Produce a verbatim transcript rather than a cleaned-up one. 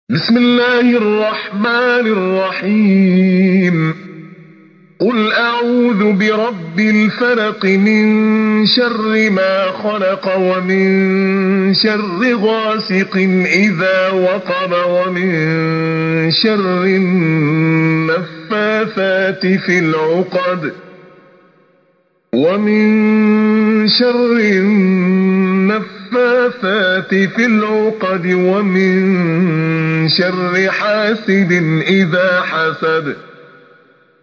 بسم الله الرحمن الرحيم. قل أعوذ برب الفلق من شر ما خلق ومن شر غاسق إذا وقب ومن شر النفاثات في العقد ومن شر النفاثات في العقد ومن شر حاسد إذا حسد.